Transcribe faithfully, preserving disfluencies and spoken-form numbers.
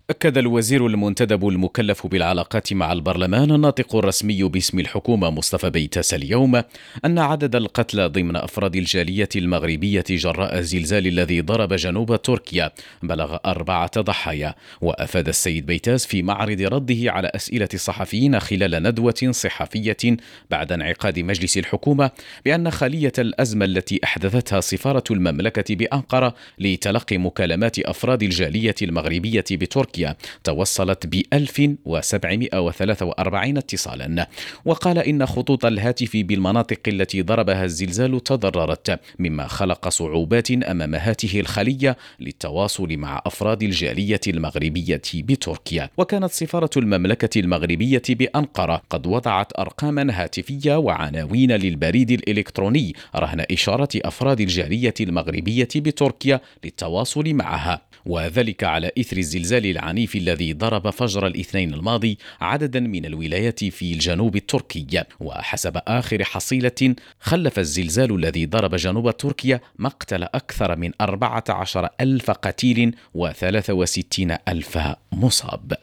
أكد الوزير المنتدب المكلف بالعلاقات مع البرلمان الناطق الرسمي باسم الحكومة مصطفى بيتاس اليوم أن عدد القتلى ضمن أفراد الجالية المغربية جراء الزلزال الذي ضرب جنوب تركيا بلغ أربعة ضحايا. وأفاد السيد بيتاس في معرض رده على أسئلة الصحفيين خلال ندوة صحفية بعد انعقاد مجلس الحكومة بأن خلية الأزمة التي أحدثتها سفارة المملكة بأنقرة لتلقي مكالمات أفراد الجالية المغربية بتركيا توصلت ب ألف وسبعمائة وثلاثة وأربعين اتصالا. وقال إن خطوط الهاتف بالمناطق التي ضربها الزلزال تضررت، مما خلق صعوبات أمام هذه الخلية للتواصل مع أفراد الجالية المغربية بتركيا. وكانت سفارة المملكة المغربية بأنقرة قد وضعت أرقاما هاتفية وعناوين للبريد الإلكتروني رهن إشارة أفراد الجالية المغربية بتركيا للتواصل معها، وذلك على إثر الزلزال العنيف الذي ضرب فجر الاثنين الماضي عددا من الولايات في الجنوب التركي. وحسب آخر حصيلة خلف الزلزال الذي ضرب جنوب تركيا مقتل أكثر من أربعة عشر ألف قتيل وثلاثة وستين ألف مصاب.